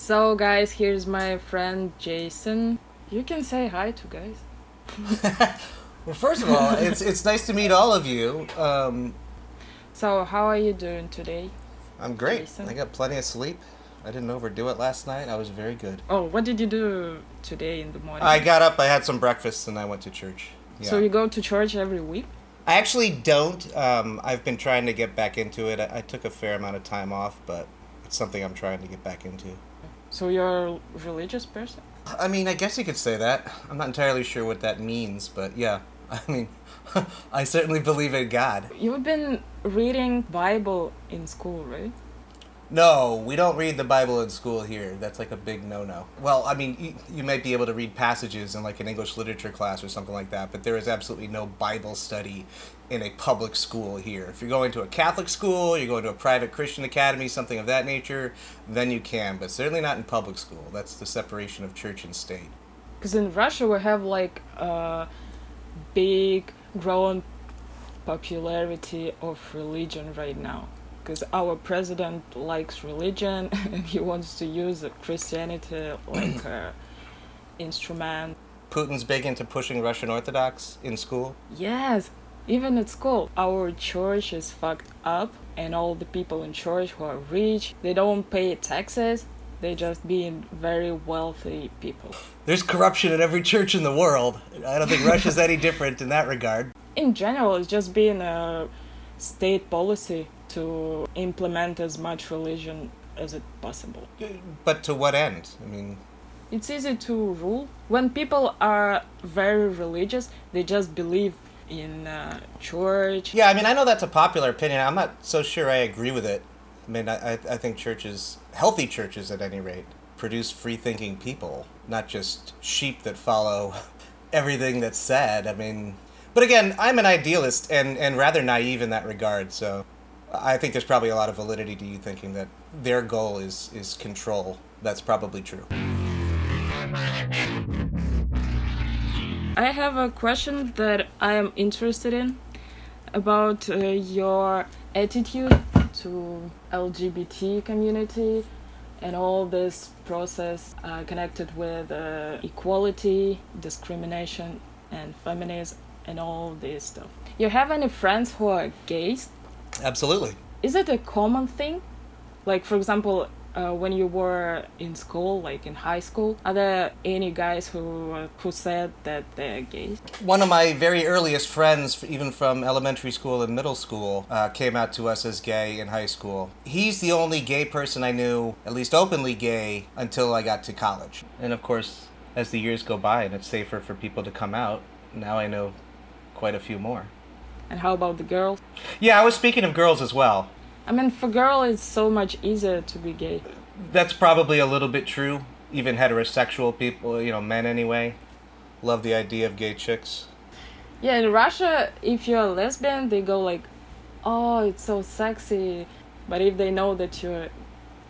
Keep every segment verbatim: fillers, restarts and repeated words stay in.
So, guys, here's my friend Jason. You can say hi to guys. Well, first of all, it's it's nice to meet all of you. Um, So, how are you doing today? I'm great. Jason? I got plenty of sleep. I didn't overdo it last night. I was very good. Oh, what did you do today in the morning? I got up, I had some breakfast, and I went to church. Yeah. So, you go to church every week? I actually don't. Um, I've been trying to get back into it. I, I took a fair amount of time off, but it's something I'm trying to get back into. So, you're a religious person? I mean, I guess you could say that. I'm not entirely sure what that means, but yeah. I mean, I certainly believe in God. You've been reading Bible in school, right? No, we don't read the Bible in school here. That's like a big no-no. Well, I mean, you, you might be able to read passages in like an English literature class or something like that, but there is absolutely no Bible study in a public school here. If you're going to a Catholic school, you're going to a private Christian academy, something of that nature, then you can, but certainly not in public school. That's the separation of church and state. Because in Russia, we have like a big growing popularity of religion right now. Because our president likes religion and he wants to use Christianity like an instrument. Putin's big into pushing Russian Orthodox in school. Yes, even at school. Our church is fucked up and all the people in church who are rich, they don't pay taxes. They just being very wealthy people. There's corruption in every church in the world. I don't think Russia's any different in that regard. In general, it's just being a state policy to implement as much religion as it possible. But to what end? I mean... It's easy to rule. When people are very religious, they just believe in uh, church. Yeah, I mean, I know that's a popular opinion. I'm not so sure I agree with it. I mean, I, I think churches, healthy churches at any rate, produce free-thinking people, not just sheep that follow everything that's said. I mean... But again, I'm an idealist and, and rather naive in that regard, so I think there's probably a lot of validity to you thinking that their goal is, is control. That's probably true. I have a question that I am interested in about uh, your attitude to L G B T community and all this process uh, connected with uh, equality, discrimination, and feminism, and all this stuff. You have any friends who are gays? Absolutely. Is it a common thing? Like, for example, uh, when you were in school, like in high school, are there any guys who uh, who said that they're gays? One of my very earliest friends, even from elementary school and middle school, uh, came out to us as gay in high school. He's the only gay person I knew, at least openly gay, until I got to college. And of course, as the years go by and it's safer for people to come out, now I know quite a few more. And how about the girls? Yeah, I was speaking of girls as well. I mean, for girl, it's so much easier to be gay. That's probably a little bit true. Even heterosexual people, you know, men anyway, love the idea of gay chicks. Yeah, in Russia, if you're a lesbian, they go like, oh, it's so sexy. But if they know that you're a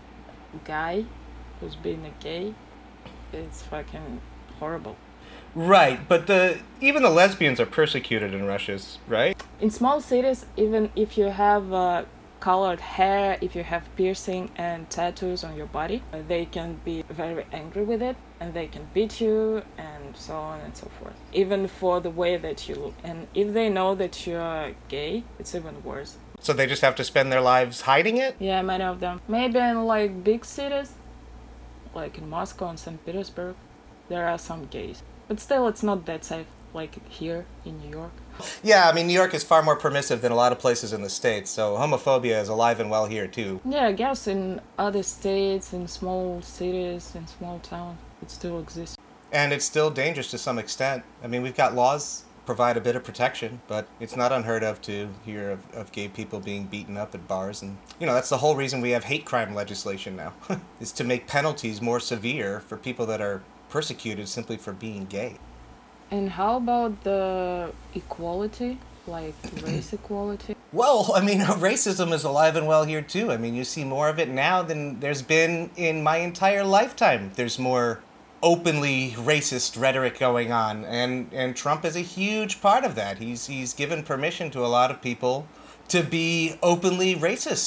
guy who's being a gay, it's fucking horrible. Right, but the even the lesbians are persecuted in Russia, right? In small cities, even if you have uh, colored hair, if you have piercing and tattoos on your body, uh, they can be very angry with it and they can beat you and so on and so forth. Even for the way that you look. And if they know that you're gay, it's even worse. So they just have to spend their lives hiding it? Yeah, many of them. Maybe in like big cities, like in Moscow and Saint Petersburg, there are some gays. But still, it's not that safe, like here in New York. Yeah, I mean, New York is far more permissive than a lot of places in the States, so homophobia is alive and well here, too. Yeah, I guess in other states, in small cities, in small towns, it still exists. And it's still dangerous to some extent. I mean, we've got laws provide a bit of protection, but it's not unheard of to hear of, of gay people being beaten up at bars. And, you know, that's the whole reason we have hate crime legislation now, is to make penalties more severe for people that are persecuted simply for being gay. And how about the equality, like race equality? Well, I mean, racism is alive and well here too. I mean, you see more of it now than there's been in my entire lifetime. There's more openly racist rhetoric going on, and, and Trump is a huge part of that. He's he's given permission to a lot of people to be openly racist.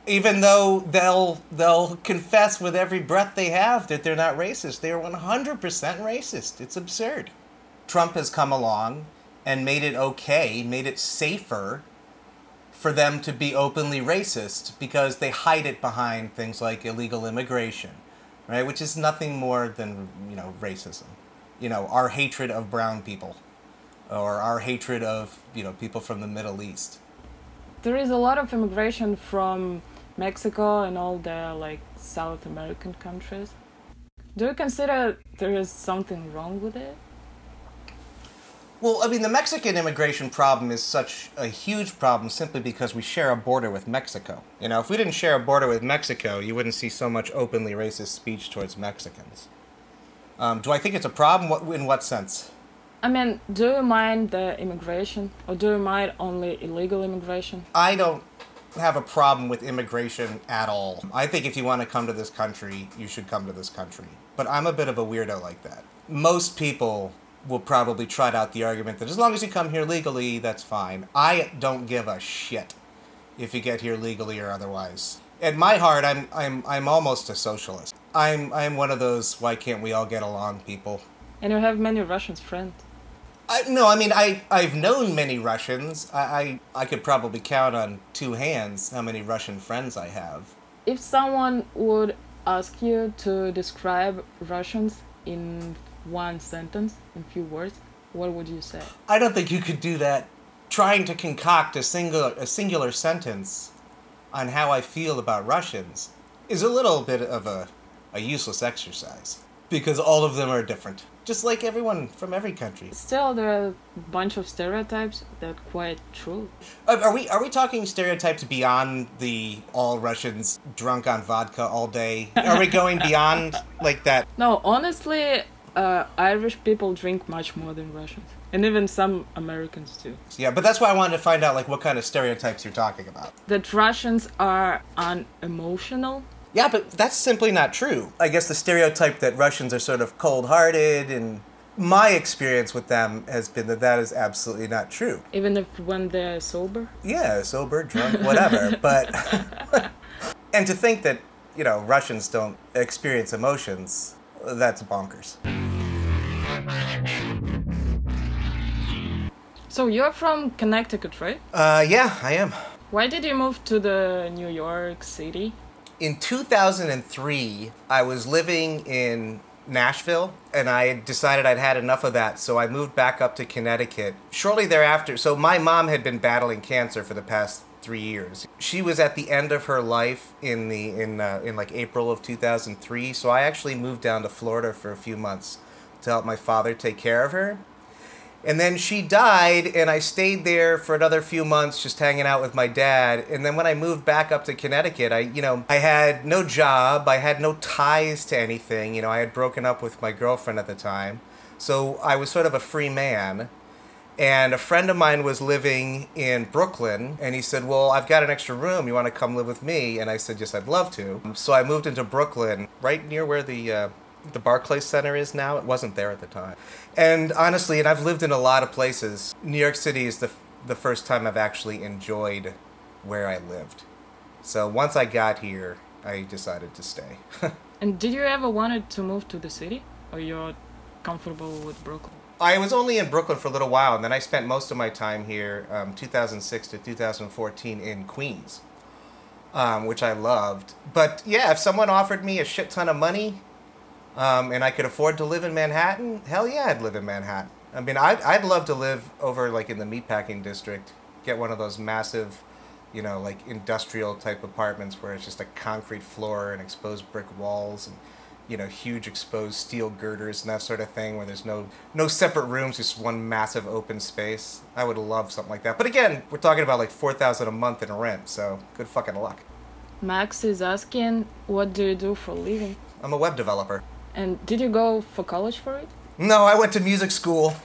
Even though they'll they'll confess with every breath they have that they're not racist. They are one hundred percent racist. It's absurd. Trump has come along and made it okay, made it safer for them to be openly racist because they hide it behind things like illegal immigration, right? Which is nothing more than, you know, racism. You know, our hatred of brown people or our hatred of, you know, people from the Middle East. There is a lot of immigration from Mexico and all the like South American countries. Do you consider there is something wrong with it? Well, I mean, the Mexican immigration problem is such a huge problem simply because we share a border with Mexico. You know, if we didn't share a border with Mexico, you wouldn't see so much openly racist speech towards Mexicans. Um, do I think it's a problem? What, in what sense? I mean, do you mind the immigration, or do you mind only illegal immigration? I don't have a problem with immigration at all. I think if you want to come to this country, you should come to this country. But I'm a bit of a weirdo like that. Most people will probably trot out the argument that as long as you come here legally, that's fine. I don't give a shit if you get here legally or otherwise. At my heart, I'm I'm I'm almost a socialist. I'm I'm one of those why can't we all get along people. And you have many Russians friends. I, no, I mean I I've known many Russians. I, I I could probably count on two hands how many Russian friends I have. If someone would ask you to describe Russians in one sentence, in few words, what would you say? I don't think you could do that. Trying to concoct a singular a singular sentence on how I feel about Russians is a little bit of a, a useless exercise because all of them are different, just like everyone from every country. Still, there are a bunch of stereotypes that are quite true. Uh, Are we are we talking stereotypes beyond the all Russians drunk on vodka all day? Are we going beyond like that? No, honestly, uh, Irish people drink much more than Russians. And even some Americans too. Yeah, but that's why I wanted to find out like what kind of stereotypes you're talking about. That Russians are unemotional. Yeah, but that's simply not true. I guess the stereotype that Russians are sort of cold-hearted, and my experience with them has been that that is absolutely not true. Even if when they're sober? Yeah, sober, drunk, whatever. But and to think that, you know, Russians don't experience emotions, that's bonkers. So you're from Connecticut, right? Uh, yeah, I am. Why did you move to the New York City? In two thousand three, I was living in Nashville, and I had decided I'd had enough of that, so I moved back up to Connecticut. Shortly thereafter, so my mom had been battling cancer for the past three years. She was at the end of her life in the in uh, in like April of two thousand three, so I actually moved down to Florida for a few months to help my father take care of her. And then she died, and I stayed there for another few months just hanging out with my dad. And then when I moved back up to Connecticut, I, you know, I had no job. I had no ties to anything. You know, I had broken up with my girlfriend at the time. So I was sort of a free man. And a friend of mine was living in Brooklyn, and he said, well, I've got an extra room. You want to come live with me? And I said, yes, I'd love to. So I moved into Brooklyn, right near where the... Uh, the Barclays Center is now. It wasn't there at the time. And honestly, and I've lived in a lot of places, New York City is the the first time I've actually enjoyed where I lived. So once I got here, I decided to stay. And did you ever wanted to move to the city? Or you're comfortable with Brooklyn? I was only in Brooklyn for a little while, and then I spent most of my time here, um, two thousand six to two thousand fourteen, in Queens, um, which I loved. But yeah, if someone offered me a shit ton of money, Um, and I could afford to live in Manhattan, hell yeah, I'd live in Manhattan. I mean, I'd, I'd love to live over, like, in the meatpacking district. Get one of those massive, you know, like, industrial-type apartments where it's just a concrete floor and exposed brick walls and, you know, huge exposed steel girders and that sort of thing where there's no, no separate rooms, just one massive open space. I would love something like that. But again, we're talking about, like, four thousand dollars a month in rent, so good fucking luck. Max is asking, what do you do for a living? I'm a web developer. And did you go for college for it? No, I went to music school.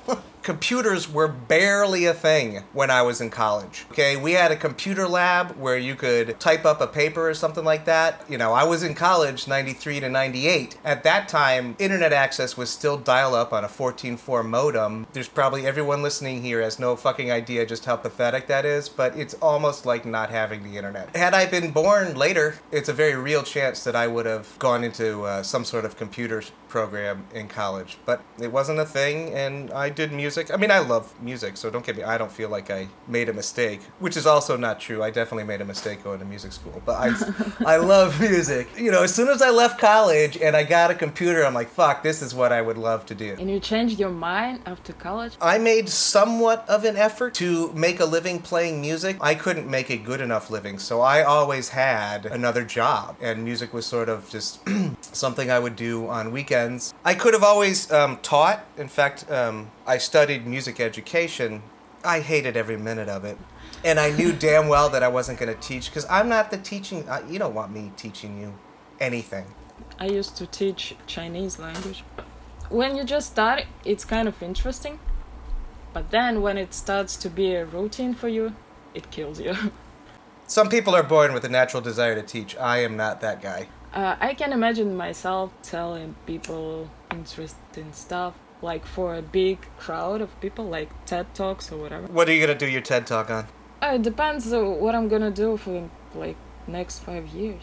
computers were barely a thing when I was in college. Okay, we had a computer lab where you could type up a paper or something like that. You know, I was in college ninety-three to ninety-eight. At that time, internet access was still dial-up on a fourteen four modem. There's probably everyone listening here has no fucking idea just how pathetic that is, but it's almost like not having the internet. Had I been born later, it's a very real chance that I would have gone into uh, some sort of computer program in college, but it wasn't a thing, and I did music. I mean, I love music, so don't get me, I don't feel like I made a mistake, which is also not true. I definitely made a mistake going to music school, but I, I love music. You know, as soon as I left college and I got a computer, I'm like, fuck, this is what I would love to do. And you changed your mind after college? I made somewhat of an effort to make a living playing music. I couldn't make a good enough living, so I always had another job, and music was sort of just something I would do on weekends. I could have always um, taught. In fact, um, I studied music education. I hated every minute of it. And I knew damn well that I wasn't going to teach, because I'm not the teaching... Uh, you don't want me teaching you anything. I used to teach Chinese language. When you just start, it's kind of interesting. But then when it starts to be a routine for you, it kills you. Some people are born with a natural desire to teach. I am not that guy. Uh, I can imagine myself telling people interesting stuff, like for a big crowd of people, like TED Talks or whatever. What are you going to do your TED Talk on? Uh, it depends on what I'm gonna do for, like, next five years.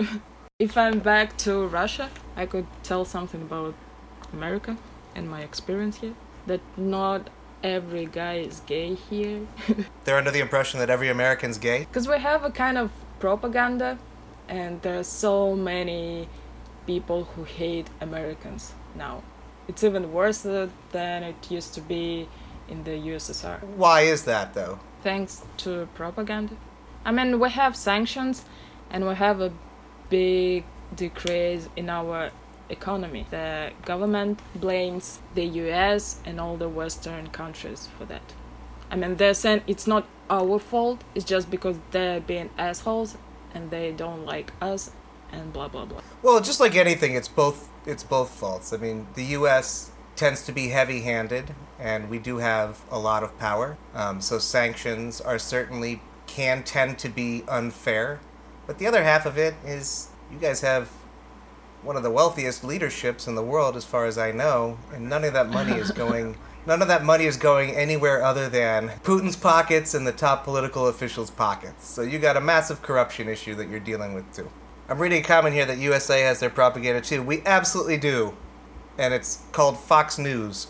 If I'm back to Russia, I could tell something about America and my experience here. That not every guy is gay here. They're under the impression that every American's gay? Because we have a kind of propaganda, and there are so many people who hate Americans now. It's even worse than it used to be in the U S S R. Why is that, though? Thanks to propaganda. I mean, we have sanctions, and we have a big decrease in our economy. The government blames the U S and all the Western countries for that. I mean, they're saying it's not our fault, it's just because they're being assholes and they don't like us, and blah blah blah. Well, just like anything, it's both it's both faults. I mean, the U S tends to be heavy-handed, and we do have a lot of power. Um, so sanctions are certainly can tend to be unfair. But the other half of it is you guys have one of the wealthiest leaderships in the world, as far as I know, and none of that money is going. None of that money is going anywhere other than Putin's pockets and the top political officials' pockets. So you got a massive corruption issue that you're dealing with, too. I'm reading a comment here that U S A has their propaganda, too. We absolutely do. And it's called Fox News.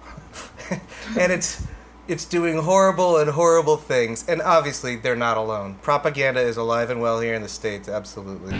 And it's it's doing horrible and horrible things. And obviously, they're not alone. Propaganda is alive and well here in the States, absolutely.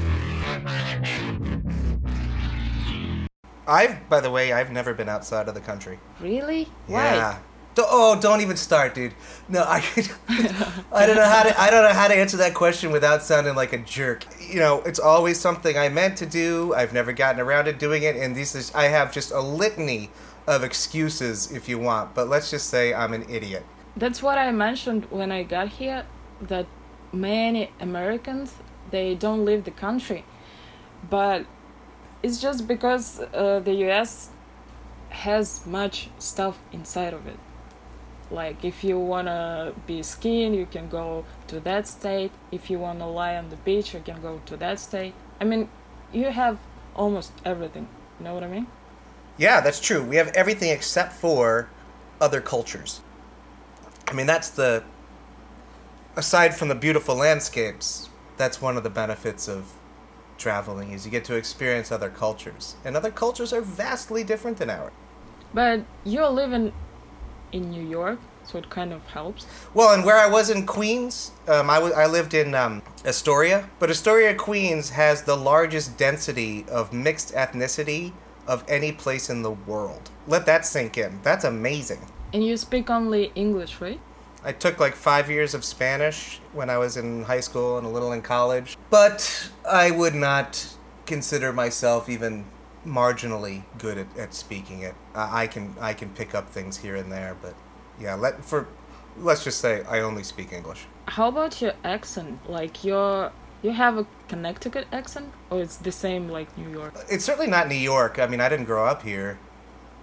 I've, by the way, I've never been outside of the country. Really? Yeah. Why? D- oh, don't even start, dude. No, I I don't know how to I don't know how to answer that question without sounding like a jerk. You know, it's always something I meant to do. I've never gotten around to doing it, and these is, I have just a litany of excuses if you want, but let's just say I'm an idiot. That's what I mentioned when I got here, that many Americans, they don't leave the country. But it's just because uh, the U S has much stuff inside of it. Like, if you wanna be skiing, you can go to that state. If you wanna lie on the beach, you can go to that state. I mean, you have almost everything. You know what I mean? Yeah, that's true. We have everything except for other cultures. I mean, that's the... Aside from the beautiful landscapes, that's one of the benefits of traveling, is you get to experience other cultures. And other cultures are vastly different than ours. But you're living in New York, so it kind of helps. Well, and where I was in Queens, um, I, w- I lived in um, Astoria. But Astoria, Queens has the largest density of mixed ethnicity of any place in the world. Let that sink in. That's amazing. And you speak only English, right? I took like five years of Spanish when I was in high school and a little in college. But I would not consider myself even marginally good at, at speaking it. I, I can I can pick up things here and there, but yeah, let for let's just say I only speak English. How about your accent? Like, your you have a Connecticut accent, or it's the same like New York? It's certainly not New York. I mean, I didn't grow up here.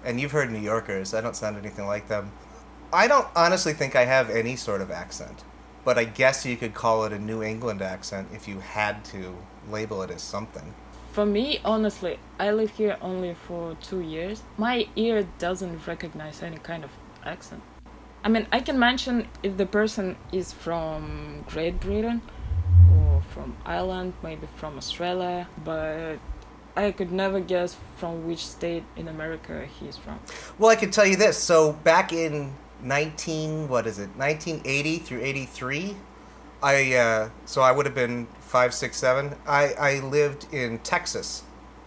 and you've heard New Yorkers. I don't sound anything like them. I don't honestly think I have any sort of accent, but I guess you could call it a New England accent if you had to label it as something. For me, honestly, I live here only for two years. My ear doesn't recognize any kind of accent. I mean, I can mention if the person is from Great Britain or from Ireland, maybe from Australia, but I could never guess from which state in America he's from. Well, I can tell you this. So back in nineteen, what is it, nineteen eighty through eighty-three, I uh, so I would have been five, six, seven. I, I lived in Texas,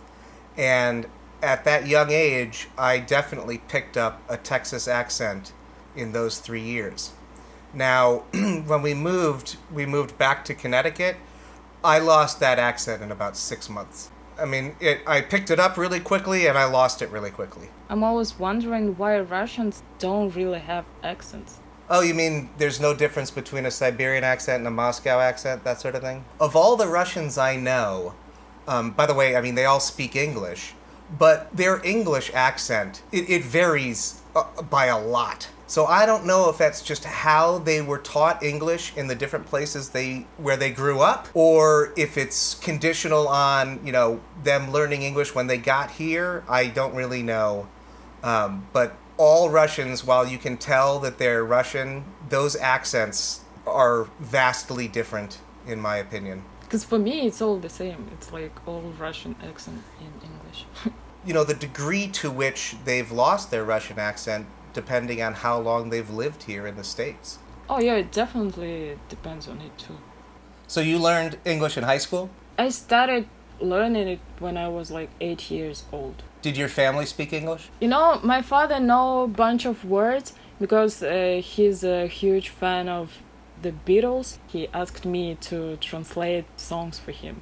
and at that young age, I definitely picked up a Texas accent in those three years. Now, when we moved, we moved back to Connecticut. I lost that accent in about six months. I mean, it, I picked it up really quickly, and I lost it really quickly. I'm always wondering why Russians don't really have accents. Oh, you mean there's no difference between a Siberian accent and a Moscow accent, that sort of thing? Of all the Russians I know, um, by the way, I mean, they all speak English, but their English accent, it, it varies uh, by a lot. So I don't know if that's just how they were taught English in the different places they where they grew up, or if it's conditional on, you know, them learning English when they got here. I don't really know. Um, but all Russians, while you can tell that they're Russian, those accents are vastly different, in my opinion. Because for me, it's all the same. It's like all Russian accent in English. You know, the degree to which they've lost their Russian accent depending on how long they've lived here in the States. Oh yeah, it definitely depends on it too. So you learned English in high school? I started learning it when I was like eight years old. Did your family speak English? You know, my father know a bunch of words because uh, he's a huge fan of the Beatles. He asked me to translate songs for him.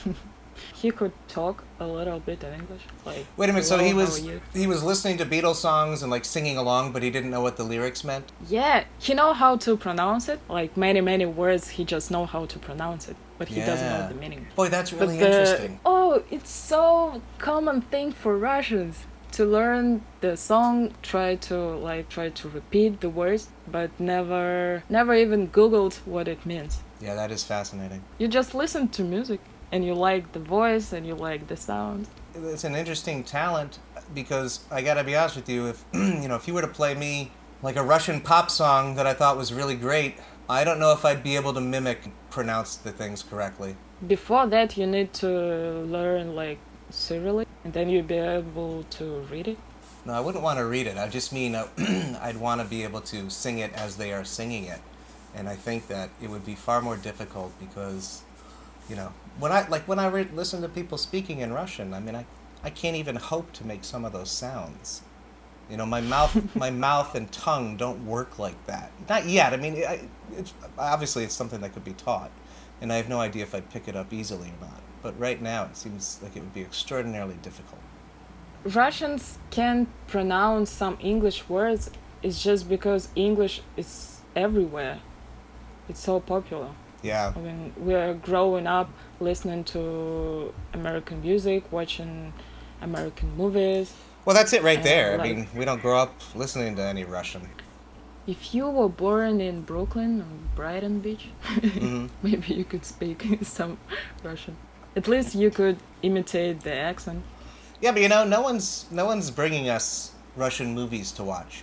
He could talk a little bit in English. Like, wait a minute, so he "Hello, was how are you?" he was listening to Beatles songs and like singing along, but he didn't know what the lyrics meant? Yeah, he know how to pronounce it. Like many, many words, he just know how to pronounce it, but he doesn't know Yeah. the meaning. Boy, that's But really the, interesting. oh, it's so common thing for Russians to learn the song, try to like try to repeat the words, but never, never even Googled what it means. Yeah, that is fascinating. You just listen to music, and you like the voice, and you like the sound. It's an interesting talent because I gotta be honest with you, if you know, if you were to play me like a Russian pop song that I thought was really great, I don't know if I'd be able to mimic, pronounce the things correctly. Before that, you need to learn like Cyrillic, and then you'll be able to read it. No, I wouldn't want to read it. I just mean uh, I'd want to be able to sing it as they are singing it, and I think that it would be far more difficult because, you know, when I like when I re- listen to people speaking in Russian, I mean, I, I can't even hope to make some of those sounds. You know, my mouth, my mouth and tongue don't work like that. Not yet. I mean, it, it's obviously it's something that could be taught, and I have no idea if I'd pick it up easily or not. But right now, it seems like it would be extraordinarily difficult. Russians can't pronounce some English words. It's just because English is everywhere. It's so popular. Yeah. I mean, we're growing up listening to American music, watching American movies. Well, that's it right Uh, there. I like- mean, we don't grow up listening to any Russian. If you were born in Brooklyn or Brighton Beach, Mhm. maybe you could speak some Russian. At least you could imitate the accent. Yeah, but you know, no one's no one's bringing us Russian movies to watch.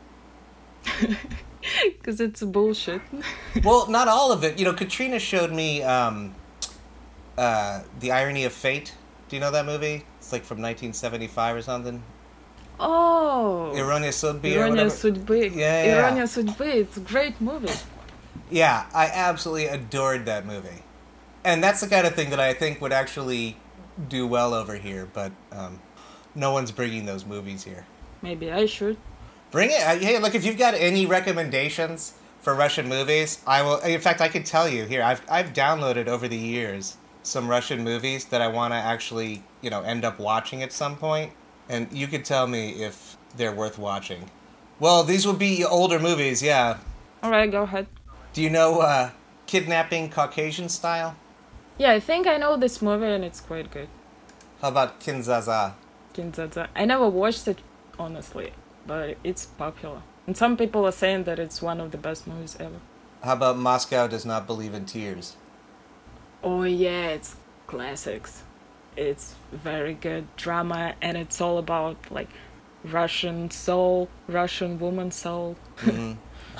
Because it's bullshit. Well, not all of it. You know, Katrina showed me um, uh, The Irony of Fate. Do you know that movie? It's like from nineteen seventy-five or something. Oh! Ironia Судьбы or Ironia whatever. Судьбы. Yeah, yeah. Ironia Судьбы. It's a great movie. Yeah, I absolutely adored that movie. And that's the kind of thing that I think would actually do well over here, but um, no one's bringing those movies here. Maybe I should. Bring it. Uh, Hey, look, if you've got any recommendations for Russian movies, I will. In fact, I could tell you here. I've I've downloaded over the years some Russian movies that I want to actually, you know, end up watching at some point, and you could tell me if they're worth watching. Well, these would be older movies, yeah. Alright, go ahead. Do you know uh, Kidnapping Caucasian Style? Yeah, I think I know this movie and it's quite good. How about Kinzaza? Kinzaza. I never watched it. honestly, but it's popular. And some people are saying that it's one of the best movies ever. How about Moscow Does Not Believe in Tears? Oh yeah, it's classics. It's very good drama, and it's all about like Russian soul, Russian woman soul. Mm-hmm.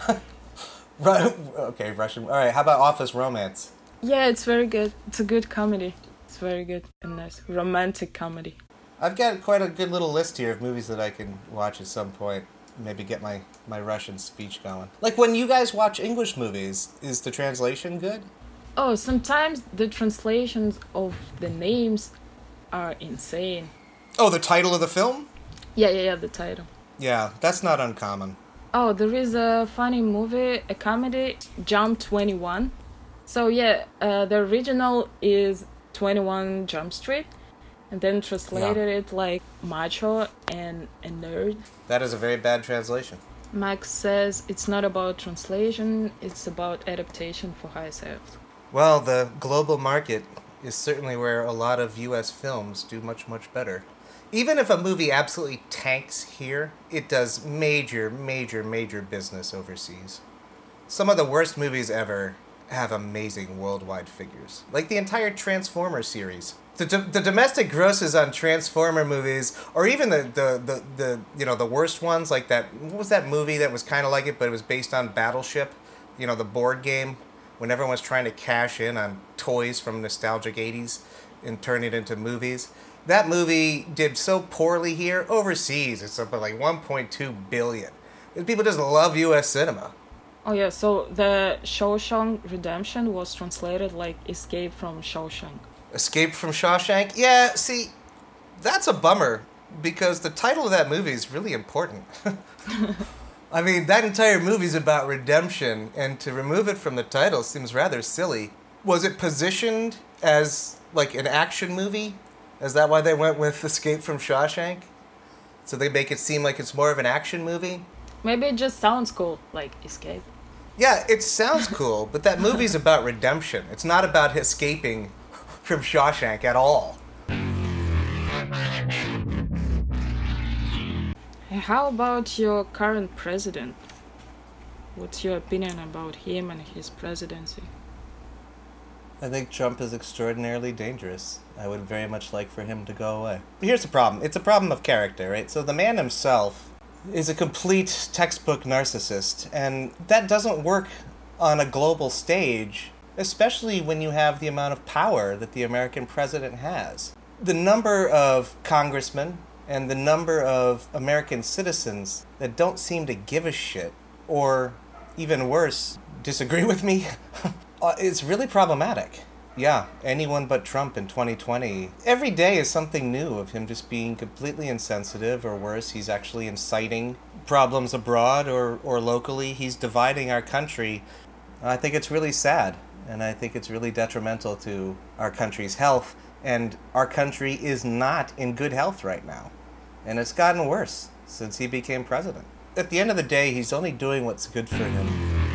Right. Okay, Russian. All right. How about Office Romance? Yeah, it's very good. It's a good comedy. It's very good and nice. Romantic comedy. I've got quite a good little list here of movies that I can watch at some point. Maybe get my, my Russian speech going. Like, when you guys watch English movies, is the translation good? Oh, sometimes the translations of the names are insane. Oh, the title of the film? Yeah, yeah, yeah, the title. Yeah, that's not uncommon. Oh, there is a funny movie, a comedy, Jump twenty-one. So yeah, uh, the original is twenty-one Jump Street, and then translated Yeah. it like macho and a nerd. That is a very bad translation. Max says it's not about translation, it's about adaptation for high sales. Well, the global market is certainly where a lot of U S films do much, much better. Even if a movie absolutely tanks here, it does major, major, major business overseas. Some of the worst movies ever have amazing worldwide figures. Like the entire Transformer series. The, do- the domestic grosses on Transformer movies, or even the, the, the, the, you know, the worst ones, like that, what was that movie that was kind of like it, but it was based on Battleship? You know, the board game, when everyone was trying to cash in on toys from nostalgic eighties and turn it into movies. That movie did so poorly here. Overseas, it's up at like one point two billion. And people just love U S cinema. Oh yeah, so the Shawshank Redemption was translated like Escape from Shawshank. Escape from Shawshank? Yeah, see, that's a bummer, because the title of that movie is really important. I mean, that entire movie's about redemption, and to remove it from the title seems rather silly. Was it positioned as, like, an action movie? Is that why they went with Escape from Shawshank? So they make it seem like it's more of an action movie? Maybe it just sounds cool, like Escape. Yeah, it sounds cool, but that movie's about redemption. It's not about escaping from Shawshank at all. How about your current president? What's your opinion about him and his presidency? I think Trump is extraordinarily dangerous. I would very much like for him to go away. But here's the problem. It's a problem of character, right? So the man himself is a complete textbook narcissist, and that doesn't work on a global stage, especially when you have the amount of power that the American president has. The number of congressmen and the number of American citizens that don't seem to give a shit, or even worse, disagree with me, it's really problematic. Yeah, anyone but Trump in twenty twenty. Every day is something new of him just being completely insensitive, or worse, he's actually inciting problems abroad or, or locally. He's dividing our country. I think it's really sad, and I think it's really detrimental to our country's health, and our country is not in good health right now. And it's gotten worse since he became president. At the end of the day, he's only doing what's good for him.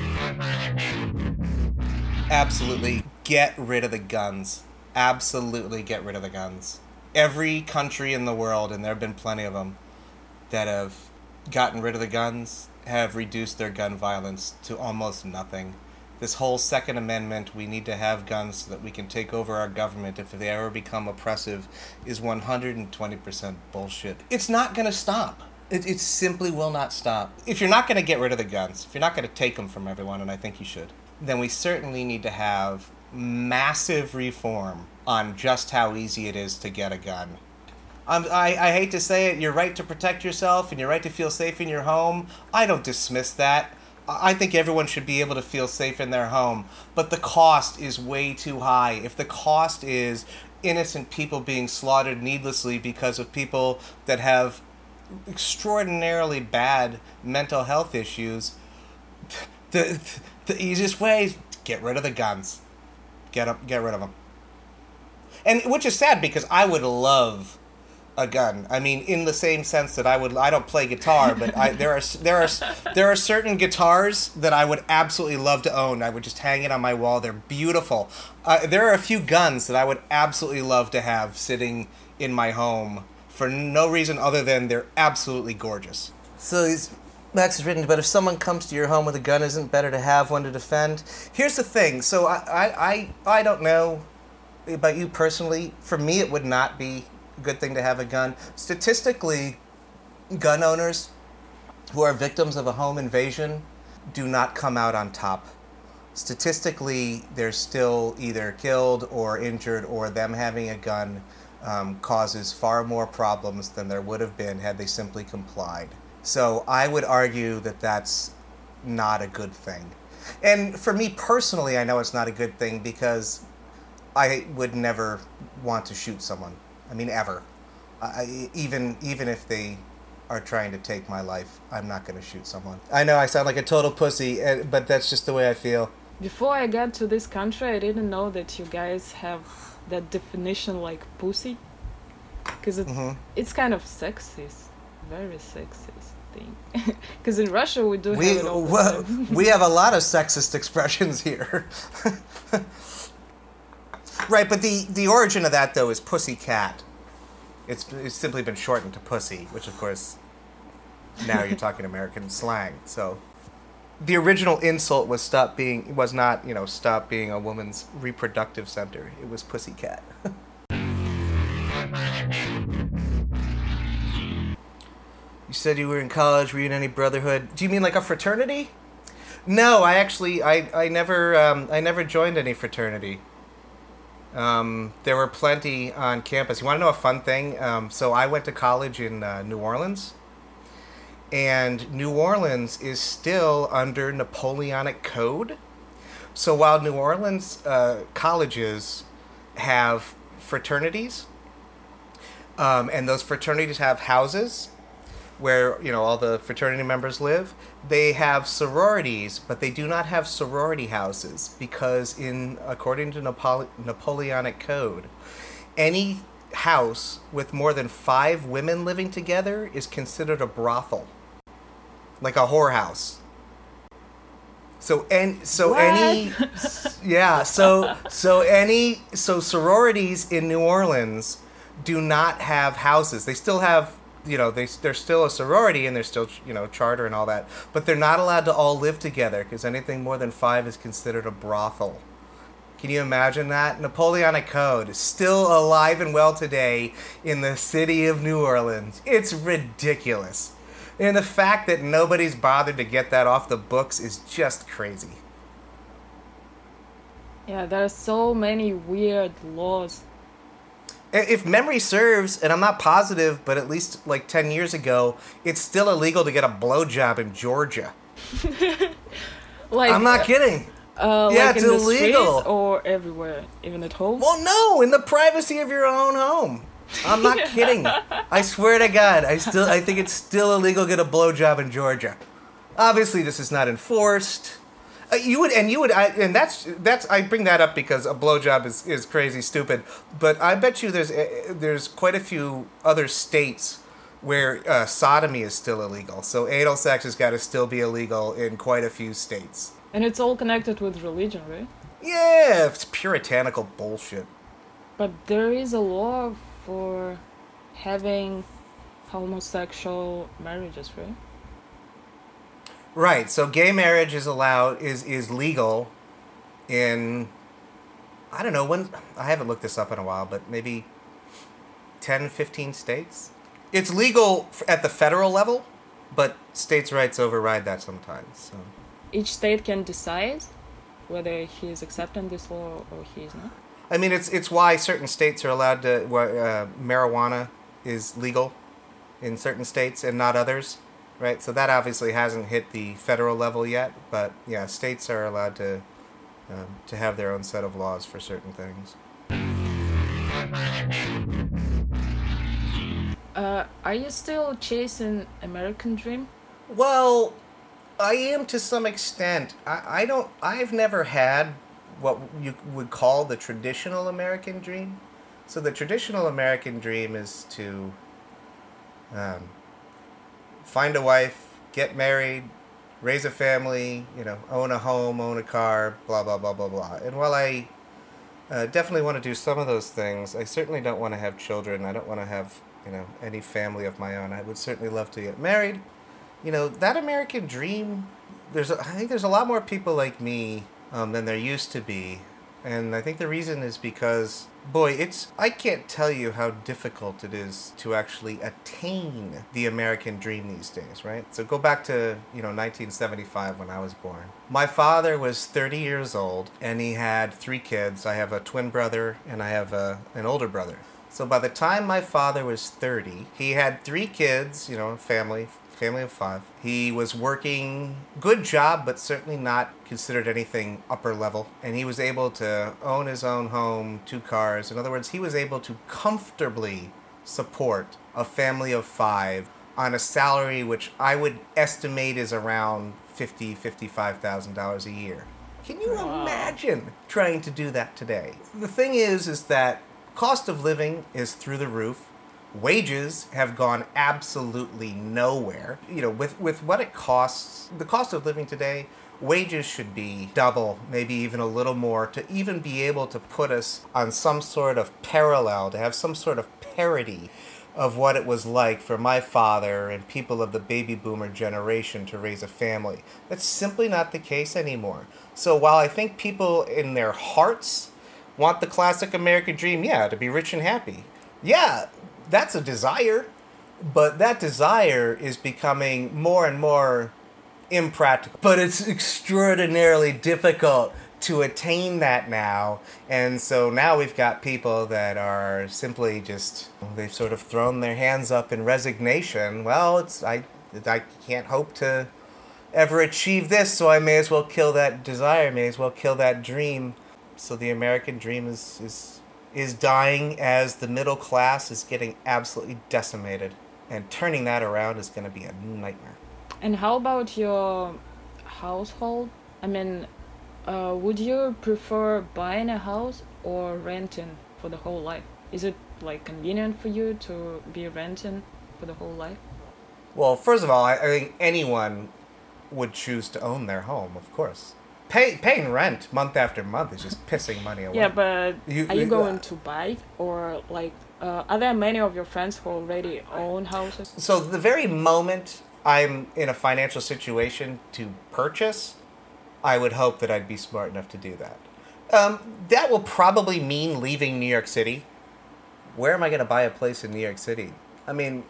Absolutely get rid of the guns. Absolutely get rid of the guns. Every country in the world, and there have been plenty of them, that have gotten rid of the guns have reduced their gun violence to almost nothing. This whole Second Amendment, we need to have guns so that we can take over our government if they ever become oppressive, is one hundred twenty percent bullshit. It's not going to stop. It, it simply will not stop. If you're not going to get rid of the guns, if you're not going to take them from everyone, and I think you should, then we certainly need to have massive reform on just how easy it is to get a gun. Um, I, I hate to say it, your right to protect yourself and your right to feel safe in your home, I don't dismiss that. I think everyone should be able to feel safe in their home, but the cost is way too high. If the cost is innocent people being slaughtered needlessly because of people that have extraordinarily bad mental health issues, the the easiest way is get rid of the guns. Get up, get rid of them. And which is sad, because I would love a gun. I mean, in the same sense that I would, I don't play guitar, but I, there are there are there are certain guitars that I would absolutely love to own. I would just hang it on my wall. They're beautiful. Uh, there are a few guns that I would absolutely love to have sitting in my home for no reason other than they're absolutely gorgeous. So he's, Max has written, but if someone comes to your home with a gun, isn't it better to have one to defend? Here's the thing. So I, I, I, I don't know about you personally. For me, it would not be a good thing to have a gun. Statistically, gun owners who are victims of a home invasion do not come out on top. Statistically, they're still either killed or injured, or them having a gun um, causes far more problems than there would have been had they simply complied. So I would argue that that's not a good thing. And for me personally, I know it's not a good thing because I would never want to shoot someone. I mean, ever. I, even even if they are trying to take my life, I'm not going to shoot someone. I know I sound like a total pussy, but that's just the way I feel. Before I got to this country, I didn't know that you guys have that definition like pussy. Because it, mm-hmm. it's kind of sexist. Very sexist thing. Because in Russia we do we, have it all well, we have a lot of sexist expressions here. Right, but the, the origin of that, though, is pussy cat. It's, it's simply been shortened to pussy, which, of course, now you're talking American slang. So the original insult was stop being was not, you know, stop being a woman's reproductive center. It was pussy cat. You said you were in college. Were you in any brotherhood? Do you mean like a fraternity? No, I actually I I never um, I never joined any fraternity. Um, there were plenty on campus. You want to know a fun thing? Um, so I went to college in uh, New Orleans, and New Orleans is still under Napoleonic Code. So while New Orleans uh, colleges have fraternities, um, and those fraternities have houses where, you know, all the fraternity members live, they have sororities, but they do not have sorority houses because, in according to Napole- Napoleonic Code, any house with more than five women living together is considered a brothel, like a whorehouse. So and so what? any yeah so so any so sororities in New Orleans do not have houses. They still have, you know, they, they're still a sorority and they're still, you know, charter and all that. But they're not allowed to all live together because anything more than five is considered a brothel. Can you imagine that? Napoleonic Code is still alive and well today in the city of New Orleans. It's ridiculous. And the fact that nobody's bothered to get that off the books is just crazy. Yeah, there are so many weird laws. If memory serves, and I'm not positive, but at least like ten years ago, it's still illegal to get a blowjob in Georgia. Like, I'm not kidding. Uh, yeah, like it's in the illegal. Streets or everywhere, even at home? Well, no, in the privacy of your own home. I'm not kidding. I swear to God, I still I think it's still illegal to get a blowjob in Georgia. Obviously, this is not enforced. Uh, you would, and you would, I, and that's that's. I bring that up because a blowjob is, is crazy stupid. But I bet you there's uh, there's quite a few other states where uh, sodomy is still illegal. So anal sex has got to still be illegal in quite a few states. And it's all connected with religion, right? Yeah, it's puritanical bullshit. But there is a law for having homosexual marriages, right? Right, so gay marriage is allowed, is, is legal in, I don't know, when, I haven't looked this up in a while, but maybe ten, fifteen states? It's legal at the federal level, but states' rights override that sometimes, so. Each state can decide whether he is accepting this law or he is not? I mean, it's it's why certain states are allowed to, uh, marijuana is legal in certain states and not others. Right, so that obviously hasn't hit the federal level yet, but yeah, states are allowed to um, to have their own set of laws for certain things. Uh, are you still chasing American dream? Well, I am to some extent. I, I don't. I've never had what you would call the traditional American dream. So the traditional American dream is to um, find a wife, get married, raise a family, you know, own a home, own a car, blah, blah, blah, blah, blah. And while I uh, definitely want to do some of those things, I certainly don't want to have children. I don't want to have you know, any family of my own. I would certainly love to get married. You know, that American dream, there's a, I think there's a lot more people like me um, than there used to be. And I think the reason is because, boy, it's, I can't tell you how difficult it is to actually attain the American dream these days, right? So go back to, you know, nineteen seventy-five when I was born. My father was thirty years old and he had three kids. I have a twin brother and I have a, an older brother. So by the time my father was thirty, he had three kids, you know, family, family of five. He was working, good job, but certainly not considered anything upper level. And he was able to own his own home, two cars. In other words, he was able to comfortably support a family of five on a salary which I would estimate is around fifty thousand dollars, fifty-five thousand dollars a year. Can you Wow. imagine trying to do that today? The thing is, is that cost of living is through the roof. Wages have gone absolutely nowhere. You know, with, with what it costs, the cost of living today, wages should be double, maybe even a little more, to even be able to put us on some sort of parallel, to have some sort of parity of what it was like for my father and people of the baby boomer generation to raise a family. That's simply not the case anymore. So while I think people in their hearts want the classic American dream, yeah, to be rich and happy. Yeah, that's a desire, but that desire is becoming more and more impractical. But it's extraordinarily difficult to attain that now, and so now we've got people that are simply just, they've sort of thrown their hands up in resignation. Well, it's I, I can't hope to ever achieve this, so I may as well kill that desire, may as well kill that dream. So the American dream is is is dying as the middle class is getting absolutely decimated. And turning that around is going to be a nightmare. And how about your household? I mean, uh, would you prefer buying a house or renting for the whole life? Is it like convenient for you to be renting for the whole life? Well, first of all, I, I think anyone would choose to own their home, of course. Pay, paying rent month after month is just pissing money away. Yeah, but You- are you you- going to buy, or like, uh, are there many of your friends who already own houses? So the very moment I'm in a financial situation to purchase, I would hope that I'd be smart enough to do that. Um, that will probably mean leaving New York City. Where am I going to buy a place in New York City? I mean,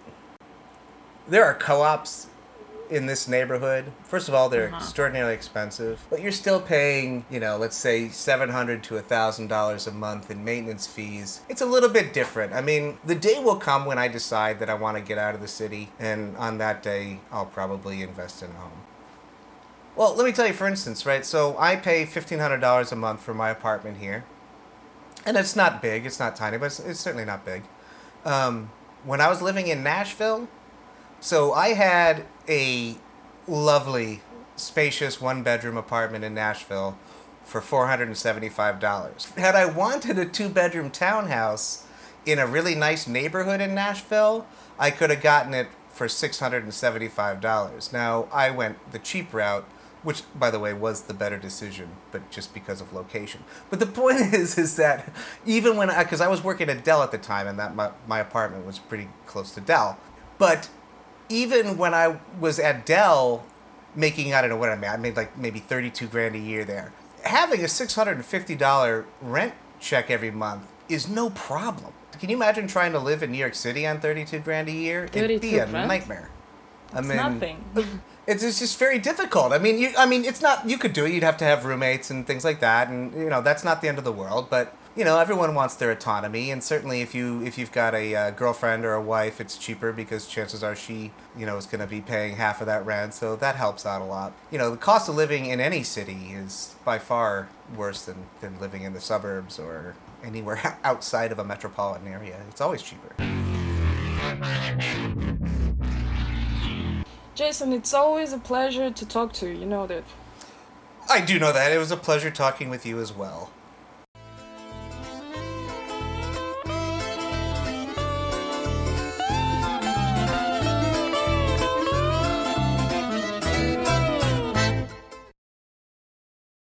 there are co-ops in this neighborhood. First of all, they're Uh-huh. extraordinarily expensive, but you're still paying, you know, let's say seven hundred to one thousand dollars a month in maintenance fees. It's a little bit different. I mean, the day will come when I decide that I want to get out of the city, and on that day, I'll probably invest in a home. Well, let me tell you, for instance, right? So I pay fifteen hundred dollars a month for my apartment here, and it's not big. It's not tiny, but it's, it's certainly not big. Um, when I was living in Nashville, so I had a lovely, spacious one-bedroom apartment in Nashville for four hundred seventy-five dollars. Had I wanted a two-bedroom townhouse in a really nice neighborhood in Nashville, I could have gotten it for six hundred seventy-five dollars. Now, I went the cheap route, which, by the way, was the better decision, but just because of location. But the point is, is that even when I, because I was working at Dell at the time, and that my, my apartment was pretty close to Dell, but even when I was at Dell, making, I don't know what I made, I made like maybe thirty-two grand a year there. Having a six hundred fifty dollars rent check every month is no problem. Can you imagine trying to live in New York City on thirty-two grand a year? It'd be a grand? nightmare. I It's mean, nothing. It's, it's just very difficult. I mean, you, I mean, it's not, you could do it. You'd have to have roommates and things like that. And, you know, that's not the end of the world. But, you know, everyone wants their autonomy. And certainly if, you, if you've got a uh, girlfriend or a wife, it's cheaper because chances are she, you know, is going to be paying half of that rent. So that helps out a lot. You know, the cost of living in any city is by far worse than, than living in the suburbs or anywhere outside of a metropolitan area. It's always cheaper. Jason, it's always a pleasure to talk to you, you know that. I do know that. It was a pleasure talking with you as well.